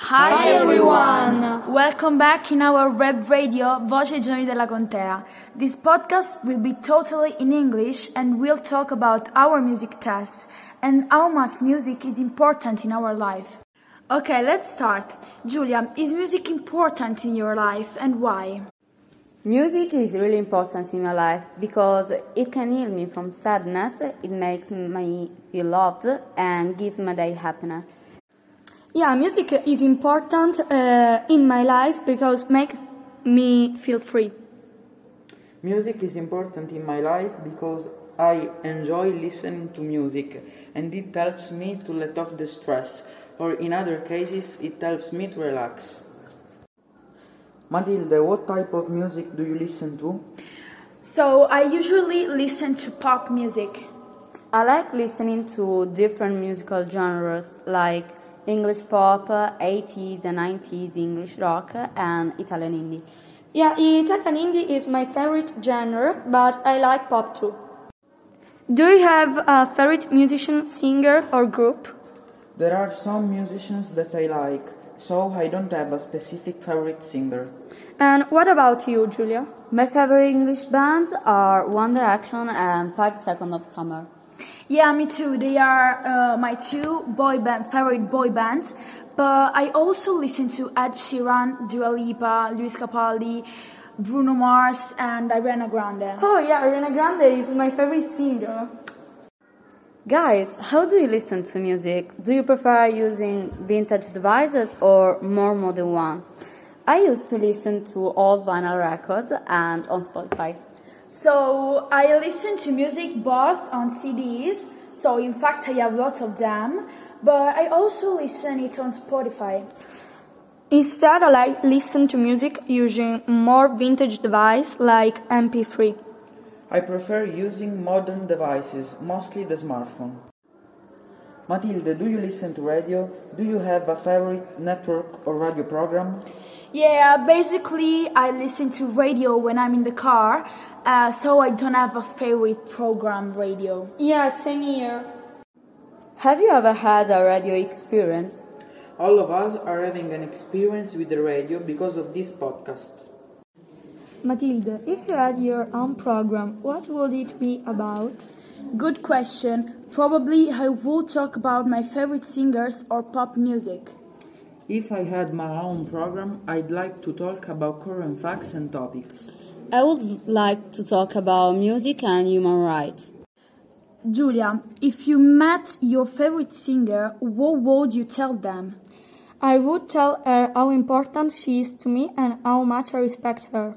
Hi everyone! Welcome back in our web radio Voce Giovani della Contea. This podcast will be totally in English and we'll talk about our music test and how much music is important in our life. Okay, let's start. Giulia, is music important in your life and why? Music is really important in my life because it can heal me from sadness, it makes me feel loved and gives my day happiness. Yeah, music is important in my life because it makes me feel free. Music is important in my life because I enjoy listening to music and it helps me to let off the stress, or in other cases it helps me to relax. Matilde, what type of music do you listen to? So I usually listen to pop music. I like listening to different musical genres like English pop, 80s and 90s English rock, and Italian indie. Yeah, Italian indie is my favorite genre, but I like pop too. Do you have a favorite musician, singer, or group? There are some musicians that I like, so I don't have a specific favorite singer. And what about you, Giulia? My favorite English bands are One Direction and 5 Seconds of Summer. Yeah, me too. They are my two favorite boy bands. But I also listen to Ed Sheeran, Dua Lipa, Luis Capaldi, Bruno Mars, and Ariana Grande. Oh yeah, Ariana Grande is my favorite singer. Guys, how do you listen to music? Do you prefer using vintage devices or more modern ones? I used to listen to old vinyl records and on Spotify. So I listen to music both on CDs, so in fact I have lots of them, but I also listen it on Spotify. Instead, I listen to music using more vintage device like MP3. I prefer using modern devices, mostly the smartphone. Matilde, do you listen to radio? Do you have a favorite network or radio program? Yeah, basically I listen to radio when I'm in the car, so I don't have a favorite program radio. Yeah, same here. Have you ever had a radio experience? All of us are having an experience with the radio because of this podcast. Matilde, if you had your own program, what would it be about? Good question. Probably I would talk about my favorite singers or pop music. If I had my own program, I'd like to talk about current facts and topics. I would like to talk about music and human rights. Giulia, if you met your favorite singer, what would you tell them? I would tell her how important she is to me and how much I respect her.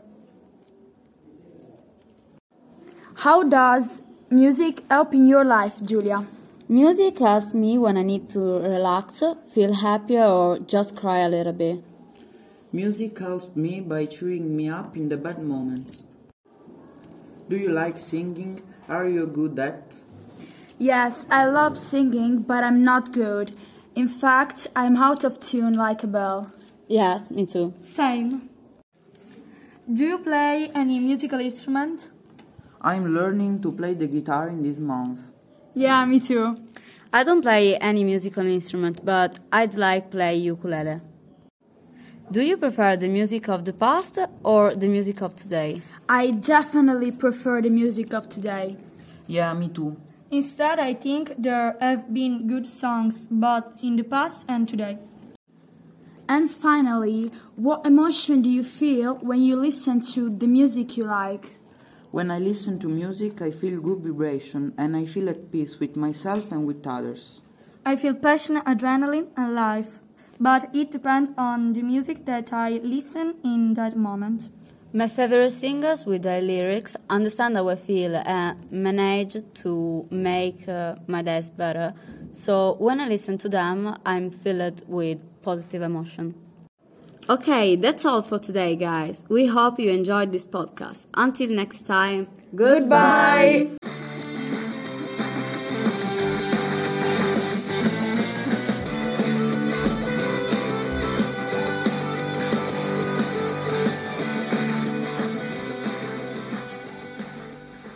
How does music help in your life, Giulia? Music helps me when I need to relax, feel happier, or just cry a little bit. Music helps me by cheering me up in the bad moments. Do you like singing? Are you good at? Yes, I love singing, but I'm not good. In fact, I'm out of tune like a bell. Yes, me too. Same. Do you play any musical instrument? I'm learning to play the guitar in this month. Yeah, me too. I don't play any musical instrument, but I'd like play ukulele. Do you prefer the music of the past or the music of today? I definitely prefer the music of today. Yeah, me too. Instead, I think there have been good songs both in the past and today. And finally, what emotion do you feel when you listen to the music you like? When I listen to music, I feel good vibration and I feel at peace with myself and with others. I feel passion, adrenaline, and life, but it depends on the music that I listen in that moment. My favorite singers with their lyrics understand how I feel and manage to make my days better. So when I listen to them, I'm filled with positive emotion. Okay, that's all for today, guys. We hope you enjoyed this podcast. Until next time, goodbye!